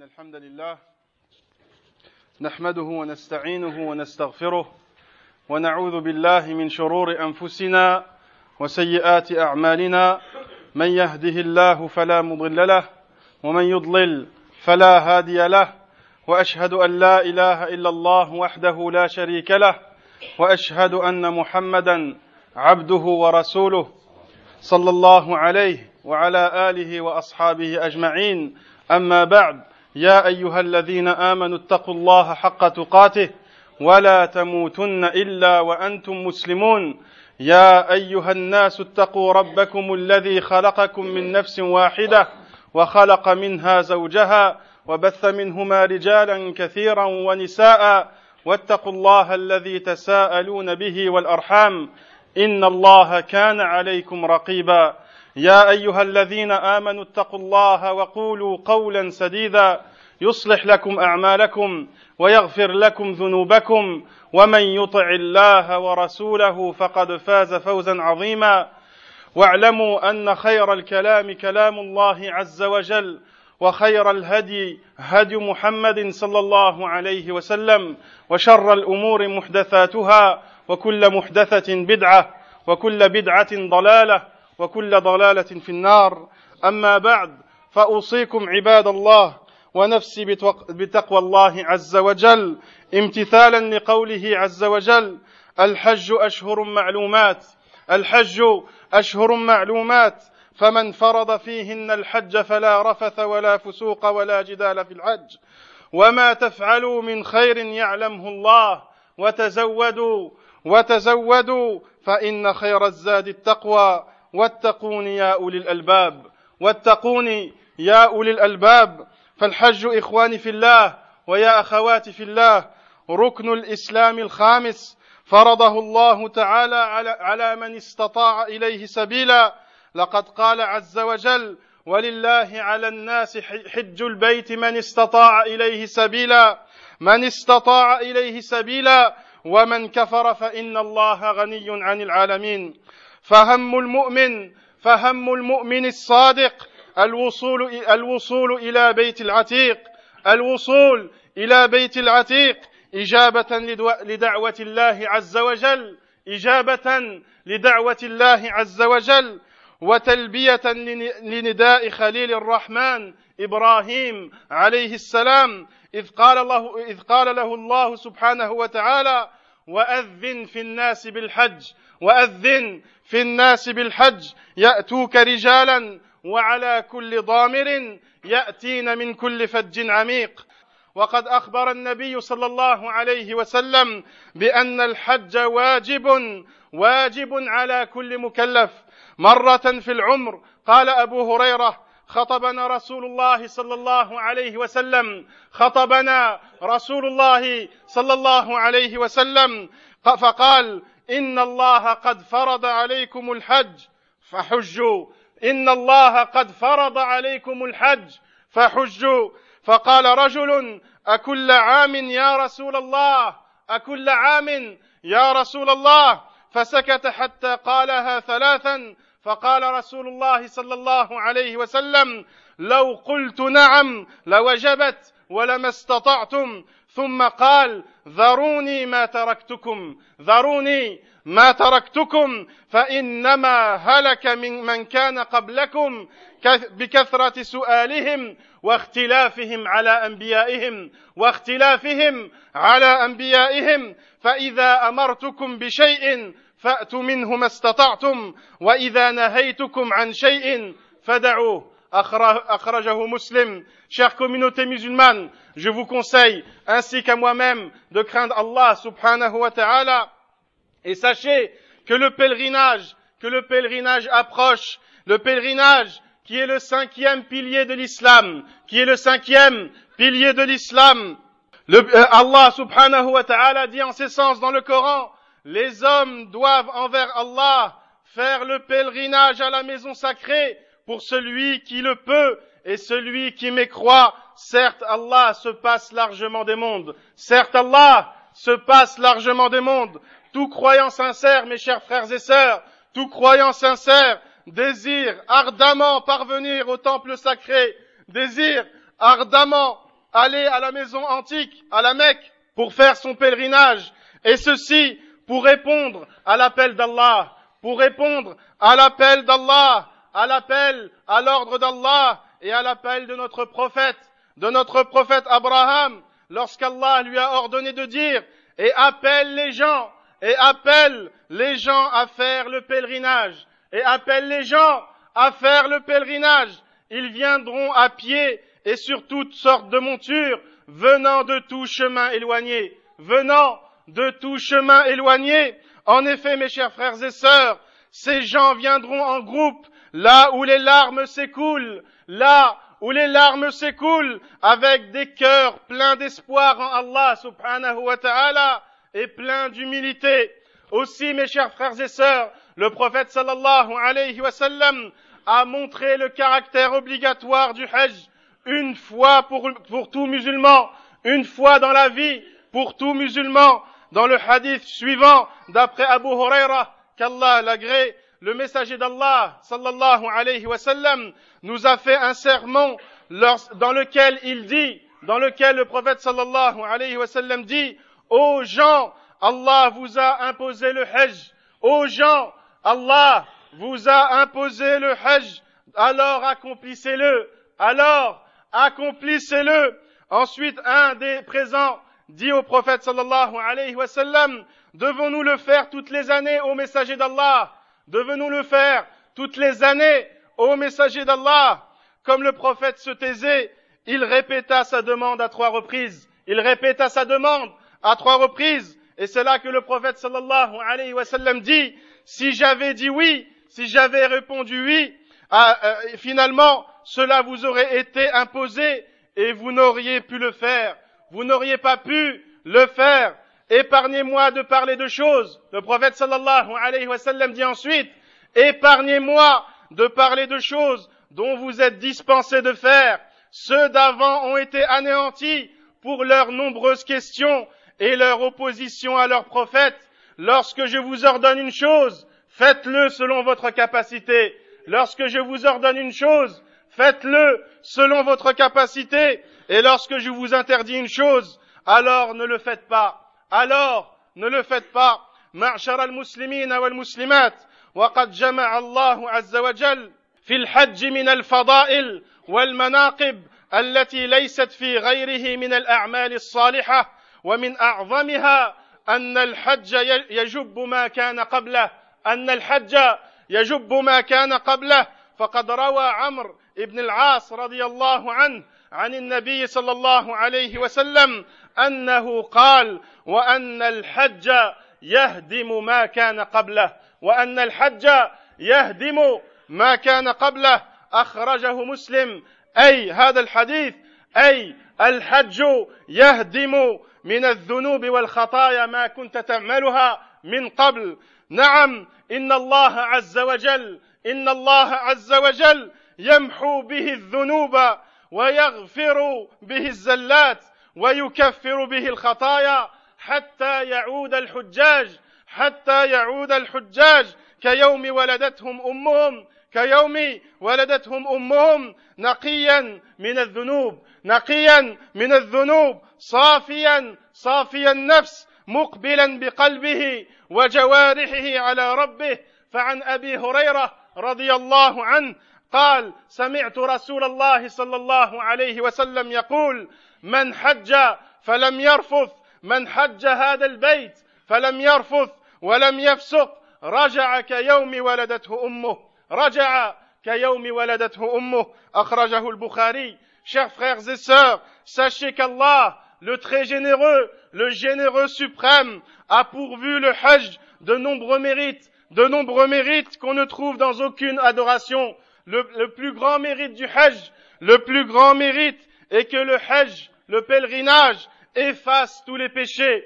إن الحمد لله نحمده ونستعينه ونستغفره ونعوذ بالله من شرور أنفسنا وسيئات أعمالنا من يهده الله فلا مضل له ومن يضلل فلا هادي له وأشهد أن لا إله إلا الله وحده لا شريك له وأشهد أن محمدا عبده ورسوله صلى الله عليه وعلى آله وأصحابه أجمعين أما بعد يا أيها الذين آمنوا اتقوا الله حق تقاته ولا تموتن إلا وأنتم مسلمون يا أيها الناس اتقوا ربكم الذي خلقكم من نفس واحدة وخلق منها زوجها وبث منهما رجالا كثيرا ونساء واتقوا الله الذي تساءلون به والأرحام إن الله كان عليكم رقيبا يا أيها الذين آمنوا اتقوا الله وقولوا قولا سديدا يصلح لكم أعمالكم ويغفر لكم ذنوبكم ومن يطع الله ورسوله فقد فاز فوزا عظيما واعلموا أن خير الكلام كلام الله عز وجل وخير الهدي هدي محمد صلى الله عليه وسلم وشر الأمور محدثاتها وكل محدثة بدعة وكل بدعة ضلالة وكل ضلالة في النار أما بعد فأوصيكم عباد الله ونفسي بتقوى الله عز وجل امتثالا لقوله عز وجل الحج أشهر معلومات فمن فرض فيهن الحج فلا رفث ولا فسوق ولا جدال في الحج وما تفعلوا من خير يعلمه الله وتزودوا فإن خير الزاد التقوى واتقون يا أولي الألباب فالحج إخواني في الله ويا أخواتي في الله ركن الإسلام الخامس فرضه الله تعالى على من استطاع إليه سبيلا لقد قال عز وجل ولله على الناس حج البيت من استطاع إليه سبيلا ومن كفر فإن الله غني عن العالمين فهم المؤمن الصادق الوصول إلى بيت العتيق إجابة لدعوة الله عز وجل وتلبية لنداء خليل الرحمن إبراهيم عليه السلام إذ قال له الله سبحانه وتعالى وأذن في الناس بالحج يأتوك رجالا وعلى كل ضامر يأتين من كل فج عميق وقد أخبر النبي صلى الله عليه وسلم بأن الحج واجب على كل مكلف مرة في العمر قال أبو هريرة خطبنا رسول الله صلى الله عليه وسلم فقال إن الله قد فرض عليكم الحج فقال رجل أكل عام يا رسول الله فسكت حتى قالها ثلاثا فقال رسول الله صلى الله عليه وسلم لو قلت نعم لوجبت ولما استطعتم ثم قال ذروني ما تركتكم فإنما هلك من كان قبلكم بكثرة سؤالهم واختلافهم على أنبيائهم فإذا أمرتكم بشيء فأتوا منه ما استطعتم وإذا نهيتكم عن شيء فدعوه أخرجه مسلم. Chère communauté musulmane, je vous conseille, ainsi qu'à moi-même, de craindre Allah subhanahu wa ta'ala. Et sachez que le pèlerinage approche, le pèlerinage qui est le cinquième pilier de l'islam, Allah subhanahu wa ta'ala dit en ces sens dans le Coran, les hommes doivent envers Allah faire le pèlerinage à la maison sacrée pour celui qui le peut et celui qui mécroit. Certes, Allah se passe largement des mondes. Tout croyant sincère, mes chers frères et sœurs, tout croyant sincère désire ardemment parvenir au temple sacré, désire ardemment aller à la maison antique, à la Mecque, pour faire son pèlerinage, et ceci pour répondre à l'appel d'Allah, pour répondre à l'appel d'Allah, à l'appel, à l'ordre d'Allah et à l'appel de notre prophète Abraham, lorsqu'Allah lui a ordonné de dire et appelle les gens à faire le pèlerinage, ils viendront à pied et sur toutes sortes de montures, venant de tout chemin éloigné. En effet, mes chers frères et sœurs, ces gens viendront en groupe, là où les larmes s'écoulent, avec des cœurs pleins d'espoir en Allah subhanahu wa ta'ala et pleins d'humilité. Aussi, mes chers frères et sœurs, le prophète sallallahu alayhi wa sallam a montré le caractère obligatoire du Hajj, une fois pour tout musulman, une fois dans la vie pour tout musulman. Dans le hadith suivant, d'après Abu Huraira, qu'Allah l'agrée, le messager d'Allah, sallallahu alayhi wa sallam, nous a fait un sermon dans lequel le prophète sallallahu alayhi wa sallam dit, ô gens, Allah vous a imposé le Hajj. Ô gens, Allah vous a imposé le Hajj. Alors accomplissez-le. Ensuite, un des présents dit au prophète sallallahu alayhi wa sallam, devons-nous le faire toutes les années au messager d'Allah? Comme le prophète se taisait, il répéta sa demande à trois reprises. Et c'est là que le prophète sallallahu alayhi wa sallam dit, si j'avais répondu oui, finalement, cela vous aurait été imposé et vous n'auriez pas pu le faire. Épargnez-moi de parler de choses. Le prophète sallallahu alayhi wa sallam dit ensuite, épargnez-moi de parler de choses dont vous êtes dispensés de faire. Ceux d'avant ont été anéantis pour leurs nombreuses questions et leur opposition à leur prophète. Lorsque je vous ordonne une chose, faites-le selon votre capacité. Et lorsque je vous interdis une chose, alors ne le faites pas. معشر المسلمين والمسلمات وقد جمع الله عز وجل في الحج من الفضائل والمناقب التي ليست في غيره من الأعمال الصالحة ومن أعظمها أن الحج يجب ما كان قبله فقد روى عمرو بن العاص رضي الله عنه عن النبي صلى الله عليه وسلم أنه قال وأن الحج يهدم ما كان قبله أخرجه مسلم هذا الحديث الحج يهدم من الذنوب والخطايا ما كنت تعملها من قبل. نعم إن الله عز وجل يمحو به الذنوب ويغفر به الزلات ويكفر به الخطايا حتى يعود الحجاج كيوم ولدتهم أمهم نقيا من الذنوب صافيا النفس مقبلا بقلبه وجوارحه على ربه. فعن أبي هريرة رضي الله عنه قال سمعت رسول الله صلى الله عليه وسلم يقول من حج هذا البيت فلم يرفث ولم يفسق رجع كيوم ولدته أمه أخرجه البخاري. Chers frères et sœurs, sachez qu'Allah, le très généreux, le généreux suprême, a pourvu le Hajj de nombreux mérites qu'on ne trouve dans aucune adoration. Le plus grand mérite du Hajj, est que le Hajj, le pèlerinage, efface tous les péchés.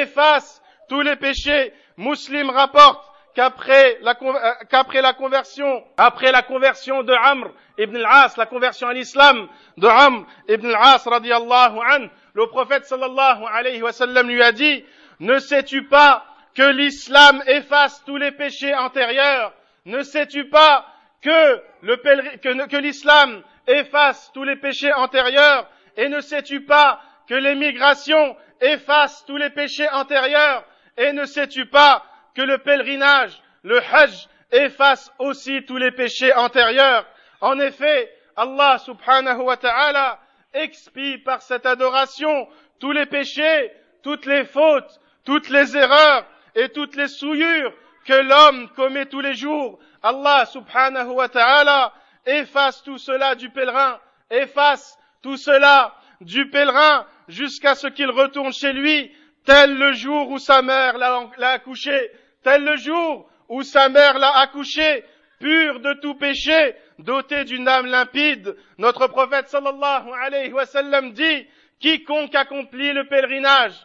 Muslim rapporte qu'après la conversion de Amr ibn al-As, la conversion à l'islam de Amr ibn al-As radiyallahu anhu, le prophète sallallahu alayhi wa sallam lui a dit, ne sais-tu pas que l'islam efface tous les péchés antérieurs? Ne sais-tu pas que l'islam efface tous les péchés antérieurs Et ne sais-tu pas que l'émigration efface tous les péchés antérieurs? Et ne sais-tu pas que le pèlerinage, le hajj, efface aussi tous les péchés antérieurs? En effet, Allah subhanahu wa ta'ala expie par cette adoration tous les péchés, toutes les fautes, toutes les erreurs et toutes les souillures que l'homme commet tous les jours. Allah subhanahu wa ta'ala efface tout cela du pèlerin, efface tout cela du pèlerin jusqu'à ce qu'il retourne chez lui, tel le jour où sa mère l'a accouché, tel le jour où sa mère l'a accouché, pur de tout péché, doté d'une âme limpide. Notre prophète sallallahu alayhi wa sallam dit, quiconque accomplit le pèlerinage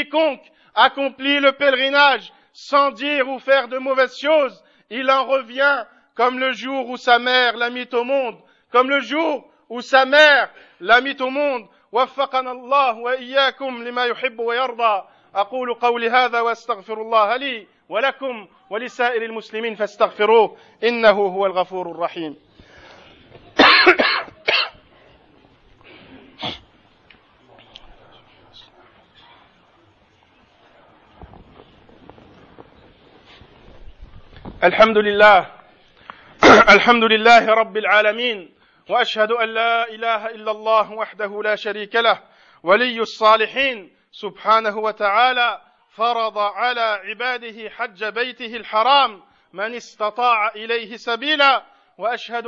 sans dire ou faire de mauvaises choses, il en revient comme le jour où sa mère l'a mis au monde, comme le jour où sa mère l'a mis au monde. وفقنا الله وإياكم لما يحب ويرضى. أقول قولي هذا وأستغفر الله لي ولكم ولسائر المسلمين فاستغفروه إنه هو الغفور الرحيم. الحمد لله رب العالمين وأشهد أن لا إله إلا الله وحده لا شريك له ولي الصالحين سبحانه وتعالى فرض على عباده حج بيته الحرام من استطاع إليه سبيلا وأشهد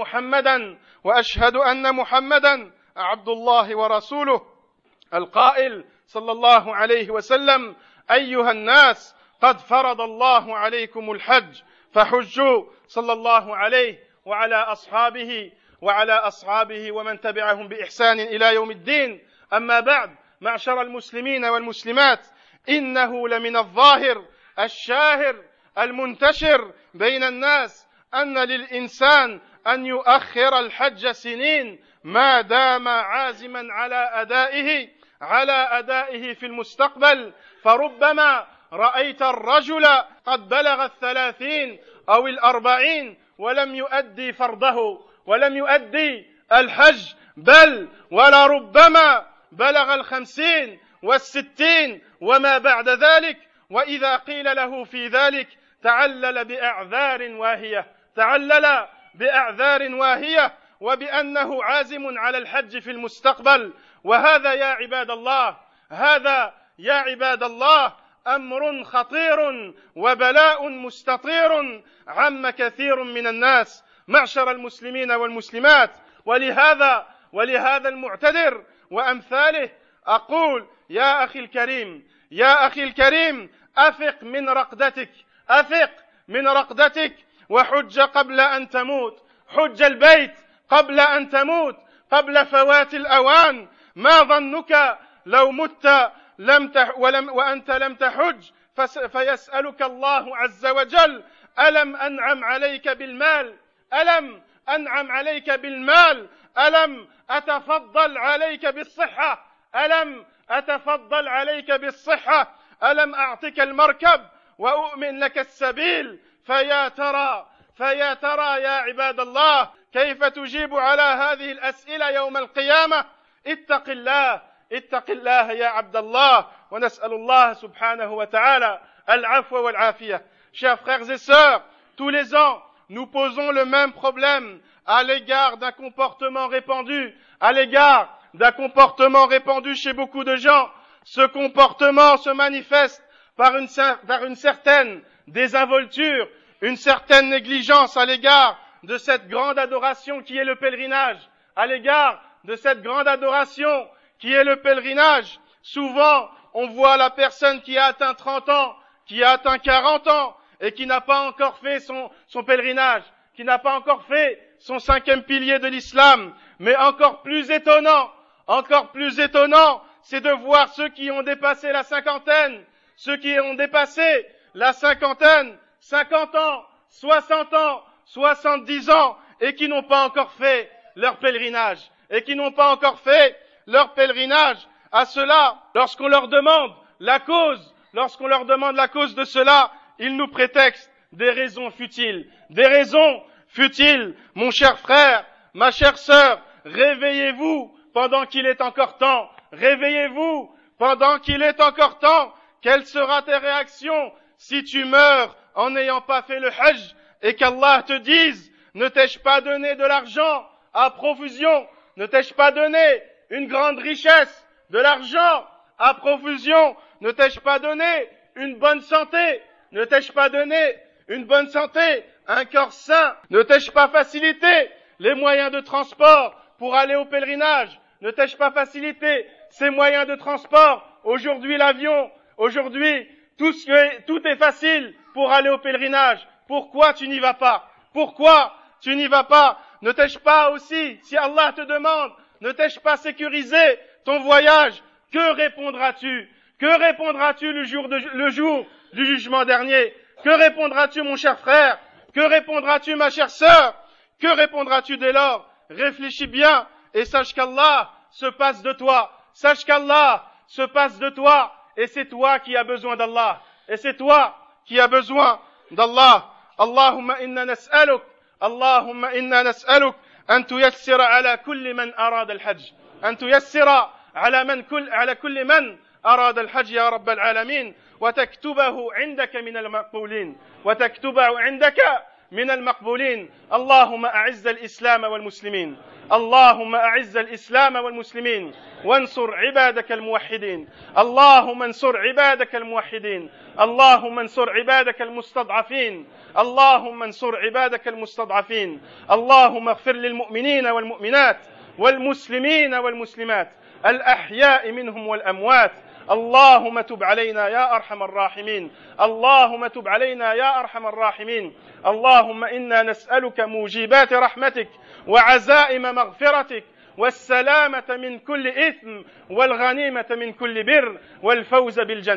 أن محمدا عبد الله ورسوله القائل صلى الله عليه وسلم أيها الناس قد فرض الله عليكم الحج فحجوا صلى الله عليه وعلى أصحابه ومن تبعهم بإحسان إلى يوم الدين. أما بعد، معشر المسلمين والمسلمات، إنه لمن الظاهر الشاهر المنتشر بين الناس أن للإنسان أن يؤخر الحج سنين ما دام عازما على أدائه في المستقبل. فربما رأيت الرجل قد بلغ 30 أو 40 ولم يؤدي فرضه ولم يؤدي الحج، بل ولربما بلغ 50 و60 وما بعد ذلك، وإذا قيل له في ذلك تعلل بأعذار واهية وبأنه عازم على الحج في المستقبل. وهذا يا عباد الله أمر خطير وبلاء مستطير عم كثير من الناس معشر المسلمين والمسلمات. ولهذا المعتذر وأمثاله أقول يا أخي الكريم أفق من رقدتك وحج قبل أن تموت، حج البيت قبل أن تموت، قبل فوات الأوان. ما ظنك لو مت وأنت لم تحج فيسألك الله عز وجل ألم أنعم عليك بالمال، ألم أتفضل عليك بالصحة، ألم أعطك المركب وأؤمن لك السبيل؟ فيا ترى يا عباد الله كيف تجيب على هذه الأسئلة يوم القيامة؟ اتق الله يا عبد الله، ونسأل الله سبحانه وتعالى العفو والعافية. Chers frères et sœurs, tous les ans, nous posons le même problème à l'égard d'un comportement répandu chez beaucoup de gens. Ce comportement se manifeste par une certaine désinvolture, une certaine négligence à l'égard de cette grande adoration qui est le pèlerinage, Souvent, on voit la personne qui a atteint 30 ans, qui a atteint 40 ans, et qui n'a pas encore fait son pèlerinage, qui n'a pas encore fait son 5e pilier de l'islam. Mais encore plus étonnant, c'est de voir ceux qui ont dépassé la cinquantaine, 50 ans, 60 ans, 70 ans, et qui n'ont pas encore fait leur pèlerinage. À cela, lorsqu'on leur demande la cause de cela, ils nous prétextent des raisons futiles. Mon cher frère, ma chère sœur, réveillez-vous, pendant qu'il est encore temps. Réveillez-vous pendant qu'il est encore temps. Quelle sera ta réaction si tu meurs en n'ayant pas fait le hajj et qu'Allah te dise, ne t'ai-je pas donné de l'argent à profusion? Ne t'ai-je pas donné une grande richesse, de l'argent à profusion? Ne t'ai-je pas donné une bonne santé? Ne t'ai-je pas donné une bonne santé, un corps sain? Ne t'ai-je pas facilité les moyens de transport pour aller au pèlerinage? Ne t'ai-je pas facilité ces moyens de transport? Aujourd'hui l'avion, aujourd'hui tout est facile pour aller au pèlerinage. Pourquoi tu n'y vas pas? Pourquoi tu n'y vas pas? Ne t'ai-je pas aussi, si Allah te demande, ne t'ai-je pas sécurisé ton voyage? Que répondras-tu? Que répondras-tu le jour du jugement dernier? Que répondras-tu, mon cher frère? Que répondras-tu, ma chère sœur? Que répondras-tu dès lors? Réfléchis bien et sache qu'Allah se passe de toi. Sache qu'Allah se passe de toi et c'est toi qui as besoin d'Allah. Et c'est toi qui as besoin d'Allah. Allahumma inna nas'aluk. Allahumma inna nas'aluk أن تيسر على كل من أراد الحج أن تيسر على كل من أراد الحج يا رب العالمين وتكتبه عندك من المقبولين وتكتبه عندك من المقبولين اللهم أعز الإسلام والمسلمين اللهم أعز الإسلام والمسلمين وانصر عبادك الموحدين اللهم انصر عبادك الموحدين اللهم انصر عبادك المستضعفين اللهم انصر عبادك المستضعفين اللهم اغفر للمؤمنين والمؤمنات والمسلمين والمسلمات الأحياء منهم والأموات اللهم تب علينا يا أرحم الراحمين اللهم تب علينا يا أرحم الراحمين اللهم إنا نسألك موجبات رحمتك وعزائم مغفرتك والسلامة من كل إثم والغنيمة من كل بر والفوز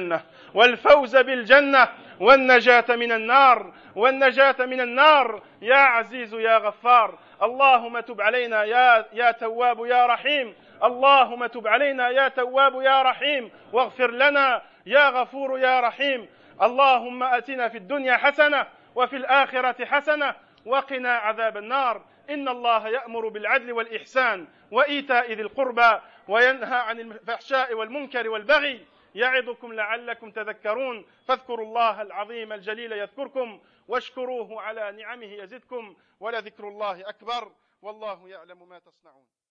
بالجنة والنجاة من النار يا عزيز يا غفار اللهم تب علينا يا تواب يا رحيم اللهم تب علينا يا تواب يا رحيم واغفر لنا يا غفور يا رحيم اللهم آتنا في الدنيا حسنة وفي الآخرة حسنة وقنا عذاب النار إن الله يأمر بالعدل والإحسان وإيتاء ذي القربى وينهى عن الفحشاء والمنكر والبغي يعظكم لعلكم تذكرون فاذكروا الله العظيم الجليل يذكركم واشكروه على نعمه يزدكم ولذكر الله أكبر والله يعلم ما تصنعون